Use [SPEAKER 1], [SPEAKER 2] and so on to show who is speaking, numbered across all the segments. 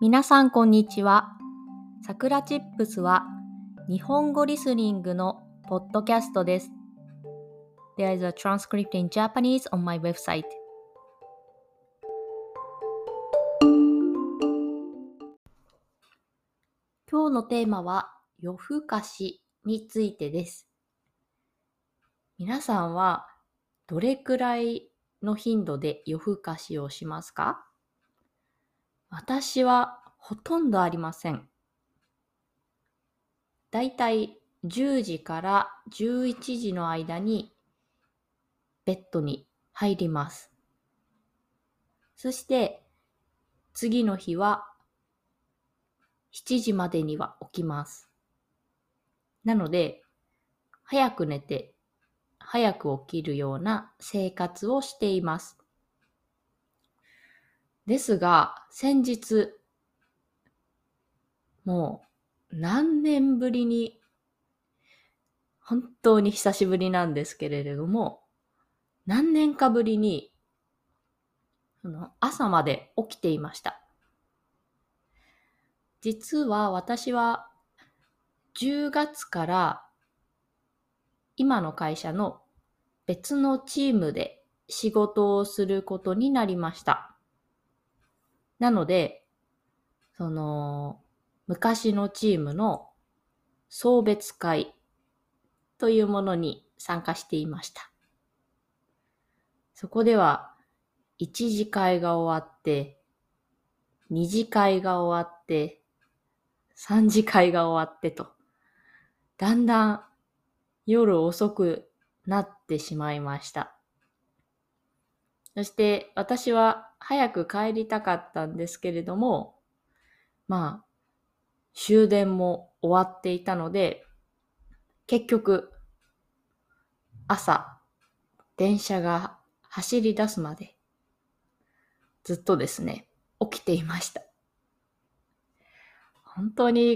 [SPEAKER 1] 皆さんこんにちは。さくらチップスは日本語リスニングのポッドキャストです。There is a transcript in Japanese on my website. 今日のテーマは夜更かしについてです。皆さんはどれくらいの頻度で夜更かしをしますか？私はほとんどありません。だいたい10時から11時の間にベッドに入ります。そして次の日は7時までには起きます。なので、早く寝て早く起きるような生活をしています。ですが、先日、もう何年ぶりに、本当に久しぶりなんですけれども、何年かぶりに朝まで起きていました。実は私は10月から今の会社の別のチームで仕事をすることになりました。なので、昔のチームの送別会というものに参加していました。そこでは1次会が終わって、2次会が終わって、3次会が終わってと、だんだん夜遅くなってしまいました。そして私は早く帰りたかったんですけれども、終電も終わっていたので、結局朝電車が走り出すまでずっとですね、起きていました。本当に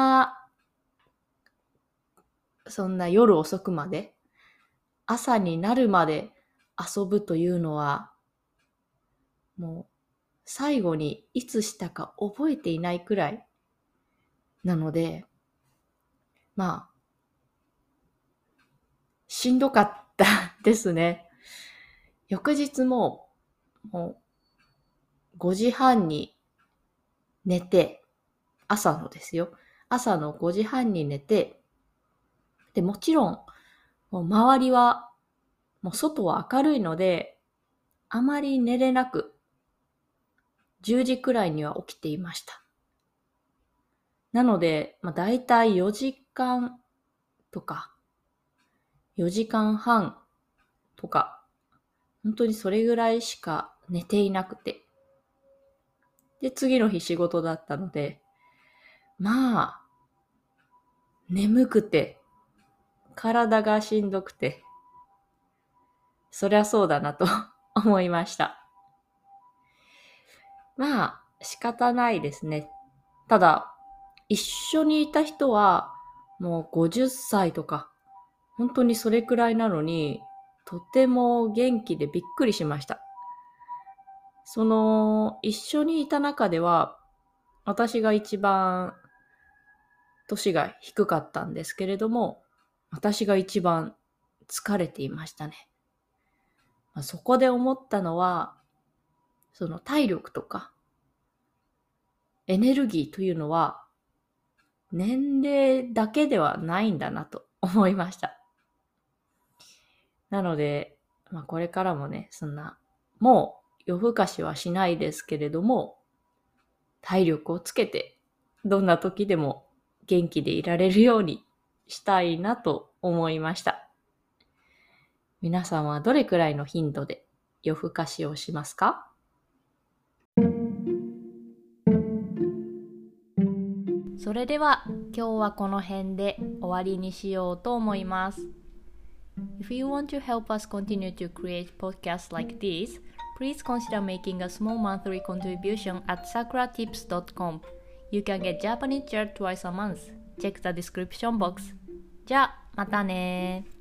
[SPEAKER 1] そんな夜遅くまで、朝になるまで遊ぶというのは、もう最後にいつしたか覚えていないくらいなので、しんどかったですね。翌日もう5時半に寝て、朝のですよ。朝の5時半に寝て、で、もちろん、もう周りは、もう外は明るいので、あまり寝れなく、10時くらいには起きていました。なので、だいたい4時間とか、4時間半とか、本当にそれぐらいしか寝ていなくて。で、次の日仕事だったので、眠くて、体がしんどくて、そりゃそうだなと思いました。仕方ないですね。ただ、一緒にいた人は、もう50歳とか、本当にそれくらいなのに、とても元気でびっくりしました。一緒にいた中では、私が一番年が低かったんですけれども、私が一番疲れていましたね。そこで思ったのは、その体力とかエネルギーというのは年齢だけではないんだなと思いました。なので、これからもね、もう夜更かしはしないですけれども、体力をつけて、どんな時でも元気でいられるようにしたいなと思いました。皆さんはどれくらいの頻度で夜更かしをしますか？それでは今日はこの辺で終わりにしようと思います。If you want to help us continue to create podcasts like this, please consider making a small monthly contribution at sakuratips.com. You can get Japanese chair twice a month. Check the description box. じゃあ、またね。